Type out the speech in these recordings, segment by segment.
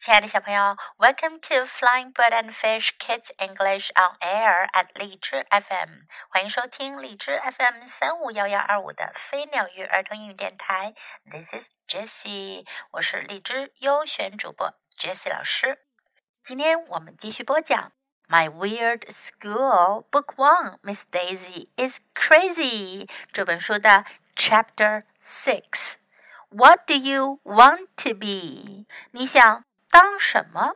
亲爱的小朋友 Welcome to Flying Bird and Fish Kids English on Air at 荔枝 FM 欢迎收听荔枝 FM 351125的飞鸟鱼儿童英语电台 This is Jessie 我是荔枝优选主播 Jessie 老师今天我们继续播讲 My Weird School Book 1 Miss Daisy is Crazy 这本书的 Chapter 6 What do you want to be? 你想当什么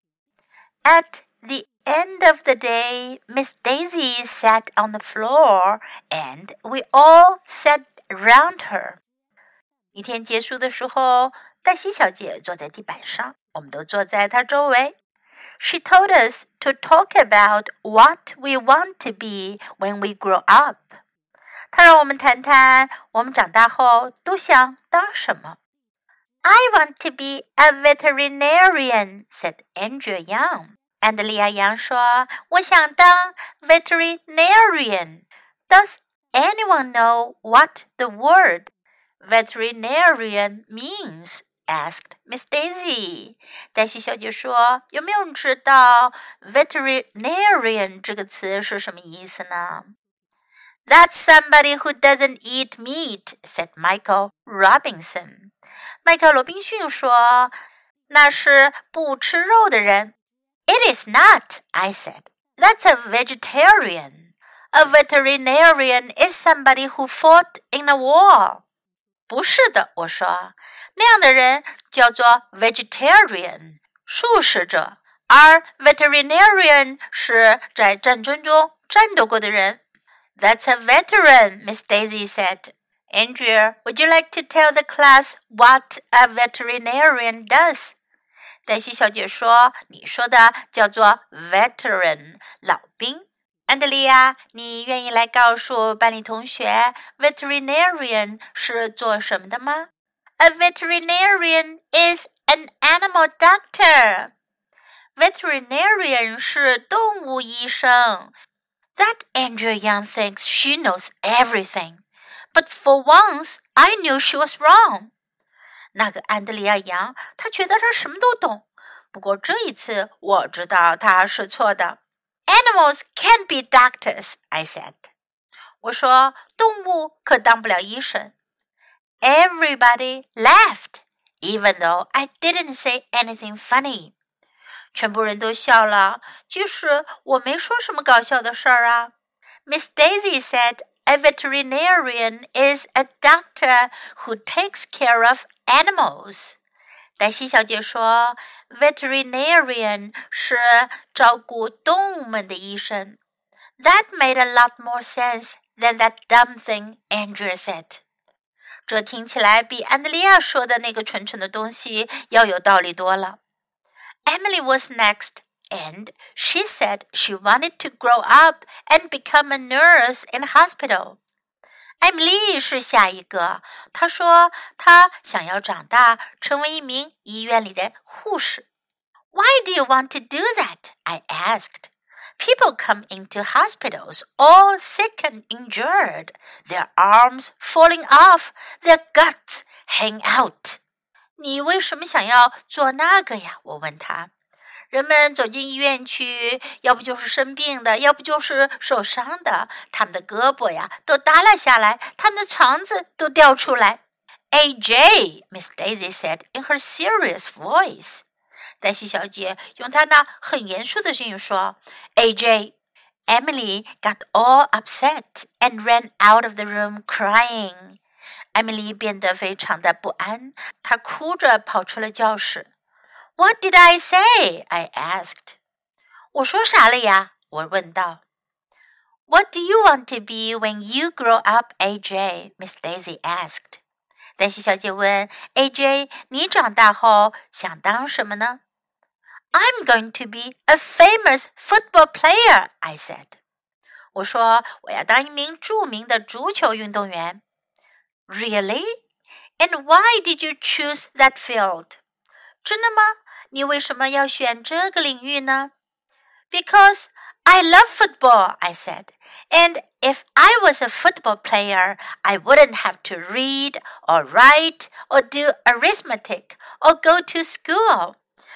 At the end of the day, Miss Daisy sat on the floor and we all sat around her. 一天结束的时候，黛西小姐坐在地板上，我们都坐在她周围。She told us to talk about what we want to be when we grow up. 她让我们谈谈我们长大后都想当什么。I want to be a veterinarian, said Andrea Young. 安德利亚杨说，我想当 veterinarian. Does anyone know what the word veterinarian means? Asked Miss Daisy. 黛西小姐说，有没有人知道 veterinarian 这个词是什么意思呢？That's somebody who doesn't eat meat, said Michael Robinson. 迈克尔·罗宾逊说，那是不吃肉的人。It is not, I said. That's a vegetarian. A veterinarian is somebody who fought in a war. 不是的，我说，那样的人叫做 vegetarian, 素食者，而 veterinarian 是在战争中战斗过的人。That's a veteran, Miss Daisy said. Andrea, would you like to tell the class what a veterinarian does? 黛西小姐说，你说的叫做 veteran, 老兵。安德利亚，你愿意来告诉班里同学 veterinarian 是做什么的吗？ A veterinarian is an animal doctor. Veterinarian 是动物医生。That Andrea Young thinks she knows everything. But for once, I knew she was wrong. 那个安德利亚杨，她觉得她什么都懂。不过这一次，我知道她是错的。Animals can't be doctors, I said. 我说，动物可当不了医生。Everybody laughed, even though I didn't say anything funny. 全部人都笑了，即使我没说什么搞笑的事儿啊。Miss Daisy said,A veterinarian is a doctor who takes care of animals. 黛西小姐说 veterinarian 是照顾动物们的医生。That made a lot more sense than that dumb thing Andrea said. 这听起来比安德利亚说的那个蠢蠢的东西要有道理多了。Emily was next.And she said she wanted to grow up and become a nurse in a hospital. 艾米丽是下一个，她说她想要长大，成为一名医院里的护士。Why do you want to do that? I asked. People come into hospitals all sick and injured, their arms falling off, their guts hang out. 你为什么想要做那个呀？我问她。人们走进医院去，要不就是生病的，要不就是受伤的，他们的胳膊呀都耷拉下来，他们的肠子都掉出来。AJ, Miss Daisy said in her serious voice. 黛西小姐用她那很严肃的声音说 AJ. Emily got all upset and ran out of the room crying. 艾米丽变得非常的不安，她哭着跑出了教室。What did I say? I asked. 我说啥了呀？我问道。What do you want to be when you grow up, AJ? Miss Daisy asked. 黛西小姐问 AJ, 你长大后想当什么呢？ I'm going to be a famous football player, I said. 我说我要当一名著名的足球运动员。Really? And why did you choose that field? 真的吗？你为什么要选这个领域呢？ Because I love football, I said. And if I was a football player, I wouldn't have to read or write or do arithmetic or go to school.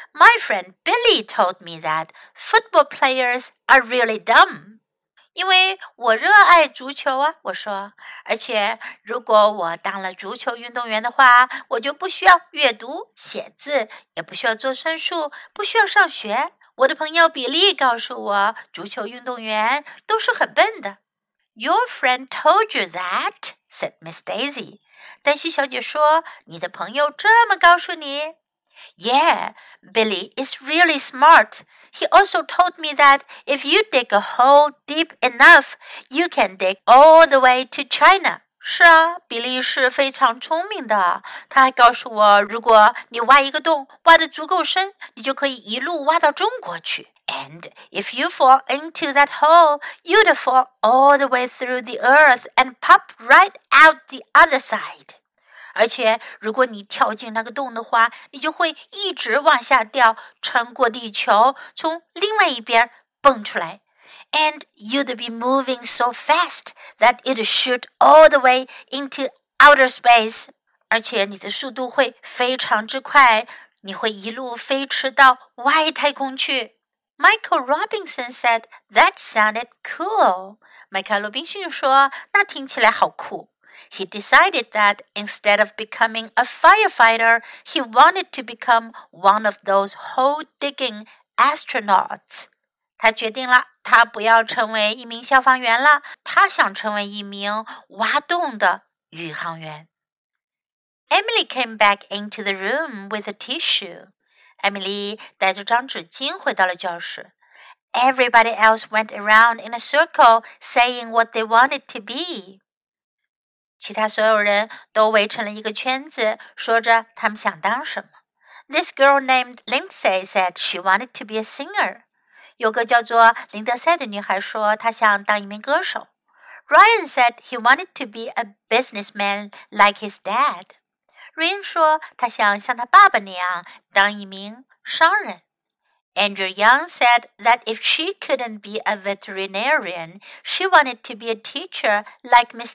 My friend Billy told me that football players are really dumb. 因为我热爱足球啊，我说，而且如果我当了足球运动员的话，我就不需要阅读、写字，也不需要做算术，不需要上学。我的朋友比利告诉我，足球运动员都是很笨的。Your friend told you that, said Miss Daisy. 黛西小姐说，你的朋友这么告诉你？Yeah, Billy is really smart. He also told me that if you dig a hole deep enough, you can dig all the way to China. 是啊，比利是非常聪明的。他还告诉我，如果你挖一个洞，挖得足够深，你就可以一路挖到中国去。And if you fall into that hole, you'd fall all the way through the earth and pop right out the other side.而且，如果你跳进那个洞的话，你就会一直往下掉，穿过地球，从另外一边蹦出来。And you'd be moving so fast that it'd shoot all the way into outer space. 而且你的速度会非常之快，你会一路飞驰到外太空去。Michael Robinson said that sounded cool. 麦凯罗宾逊说，那听起来好酷。He decided that instead of becoming a firefighter, he wanted to become one of those hole-digging astronauts. 他决定了，他不要成为一名消防员了，他想成为一名挖洞的宇航员。Emily came back into the room with a tissue. Emily 带着张纸巾回到了教室。Everybody else went around in a circle, saying what they wanted to be.其他所有人都围成了一个圈子，说着他们想当什么。This girl named Lindsay said she wanted to be a singer. 有个叫做林德赛的女孩说她想当一名歌手。Ryan said he wanted to be a businessman like his dad. Ryan 说他想像他爸爸那样当一名商人。Andrew Young said that if she couldn't be a veterinarian, she wanted to be a teacher like Miss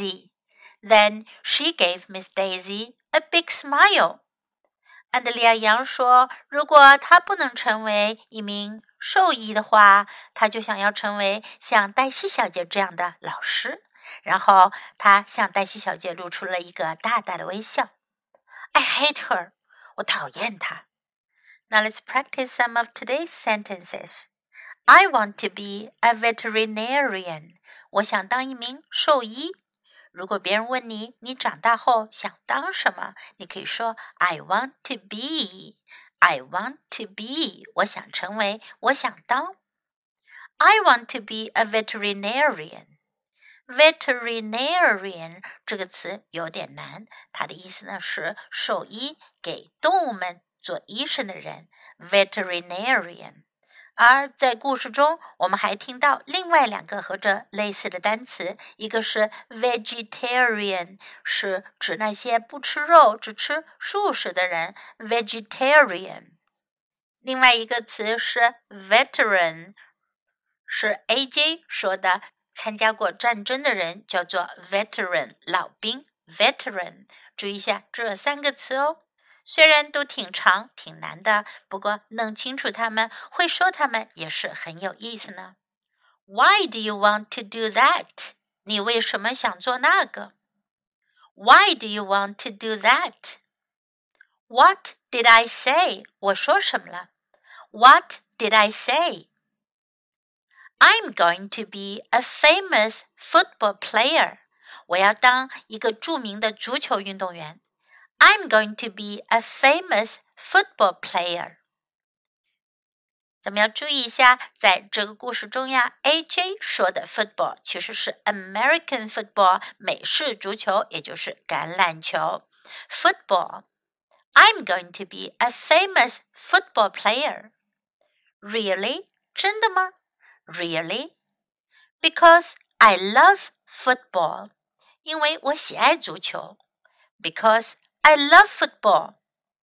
Daisy.Then she gave Miss Daisy a big smile. 安德利亚杨说，如果她不能成为一名兽医的话，她就想要成为像黛西小姐这样的老师。然后她向黛西小姐露出了一个大大的微笑。I hate her. 我讨厌她。Now let's practice some of today's sentences. I want to be a veterinarian. 我想当一名兽医。如果别人问你，你长大后想当什么？你可以说 I want to be. I want to be. 我想成为，我想当。I want to be a veterinarian. Veterinarian 这个词有点难，它的意思呢是兽医，给动物们做医生的人。Veterinarian。而在故事中，我们还听到另外两个和这类似的单词，一个是 vegetarian， 是指那些不吃肉只吃素食的人 vegetarian。 另外一个词是 veteran， 是 AJ 说的，参加过战争的人叫做 veteran， 老兵 veteran。 注意一下这三个词哦，虽然都挺长挺难的，不过弄清楚它们，会说它们也是很有意思呢。 Why do you want to do that? 你为什么想做那个？ Why do you want to do that? What did I say? 我说什么了？ What did I say? I'm going to be a famous football player. 我要当一个著名的足球运动员。I'm going to be a famous football player. 咱们要注意一下，在这个故事中呀 AJ 说的 football 其实是 American football 美式足球，也就是橄榄球 football. I'm going to be a famous football player. Really? 真的吗？ Really? Because I love football. 因为我喜爱足球。Because I love football.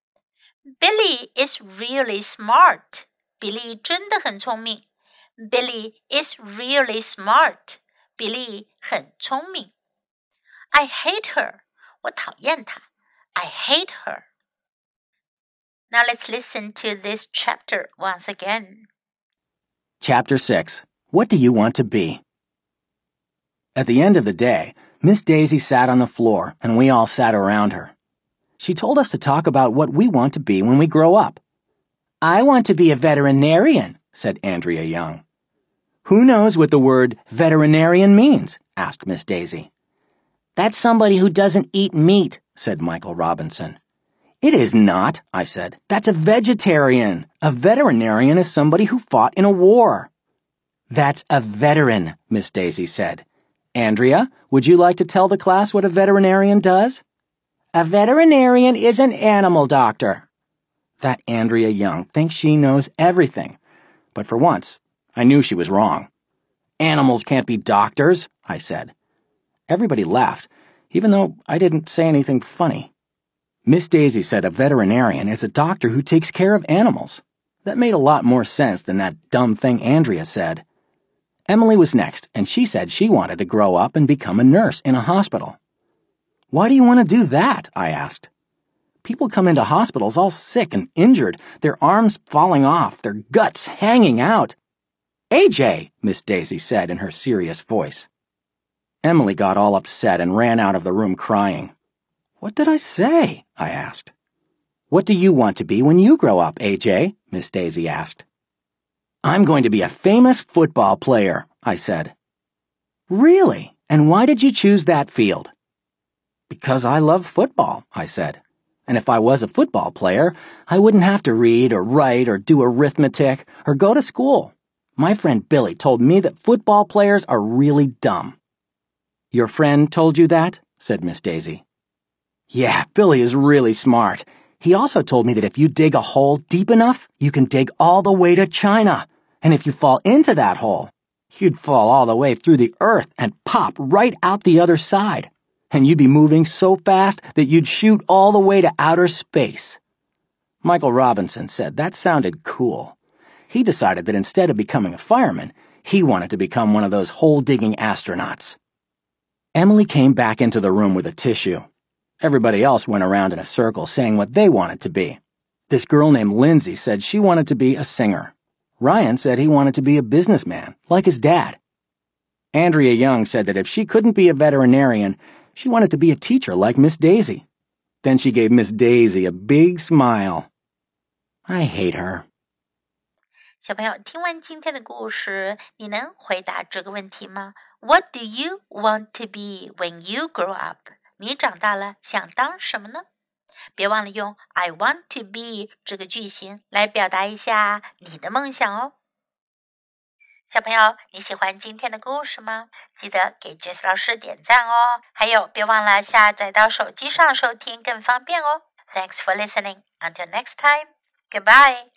Billy is really smart. 比利真的很聪明。Billy is really smart. 比利很聪明。I hate her. 我讨厌她。I hate her. Now let's listen to this chapter once again. Chapter 6. What do you want to be? At the end of the day, Miss Daisy sat on the floor, and we all sat around her. She told us to talk about what we want to be when we grow up. I want to be a veterinarian, said Andrea Young. Who knows what the word veterinarian means? Asked Miss Daisy. That's somebody who doesn't eat meat, said Michael Robinson. It is not, I said. That's a vegetarian. A veterinarian is somebody who fought in a war. That's a veteran, Miss Daisy said. Andrea, would you like to tell the class what a veterinarian does? A veterinarian is an animal doctor. That Andrea Young thinks she knows everything. But for once, I knew she was wrong. Animals can't be doctors, I said. Everybody laughed, even though I didn't say anything funny. Miss Daisy said a veterinarian is a doctor who takes care of animals. That made a lot more sense than that dumb thing Andrea said. Emily was next, and she said she wanted to grow up and become a nurse in a hospital. Why do you want to do that? I asked. People come into hospitals all sick and injured, their arms falling off, their guts hanging out. AJ, Miss Daisy said in her serious voice. Emily got all upset and ran out of the room crying. What did I say? I asked. What do you want to be when you grow up, AJ? Miss Daisy asked. I'm going to be a famous football player, I said. Really? And why did you choose that field? Because I love football, I said. And if I was a football player, I wouldn't have to read or write or do arithmetic or go to school. My friend Billy told me that football players are really dumb. Your friend told you that? Said Miss Daisy. Yeah, Billy is really smart. He also told me that if you dig a hole deep enough, you can dig all the way to China. And if you fall into that hole, you'd fall all the way through the earth and pop right out the other side. And you'd be moving so fast that you'd shoot all the way to outer space. Michael Robinson said that sounded cool. He decided that instead of becoming a fireman, he wanted to become one of those hole-digging astronauts. Emily came back into the room with a tissue. Everybody else went around in a circle saying what they wanted to be. This girl named Lindsay said she wanted to be a singer. Ryan said he wanted to be a businessman, like his dad. Andrea Young said that if she couldn't be a veterinarian, she wanted to be a teacher like Miss Daisy. Then she gave Miss Daisy a big smile. I hate her. 小朋友，听完今天的故事，你能回答这个问题吗？ What do you want to be when you grow up? 你长大了想当什么呢？别忘了用 I want to be 这个句型来表达一下你的梦想哦。小朋友，你喜欢今天的故事吗？记得给 Jess 老师点赞哦。还有，别忘了下载到手机上收听更方便哦。Thanks for listening. Until next time. Goodbye.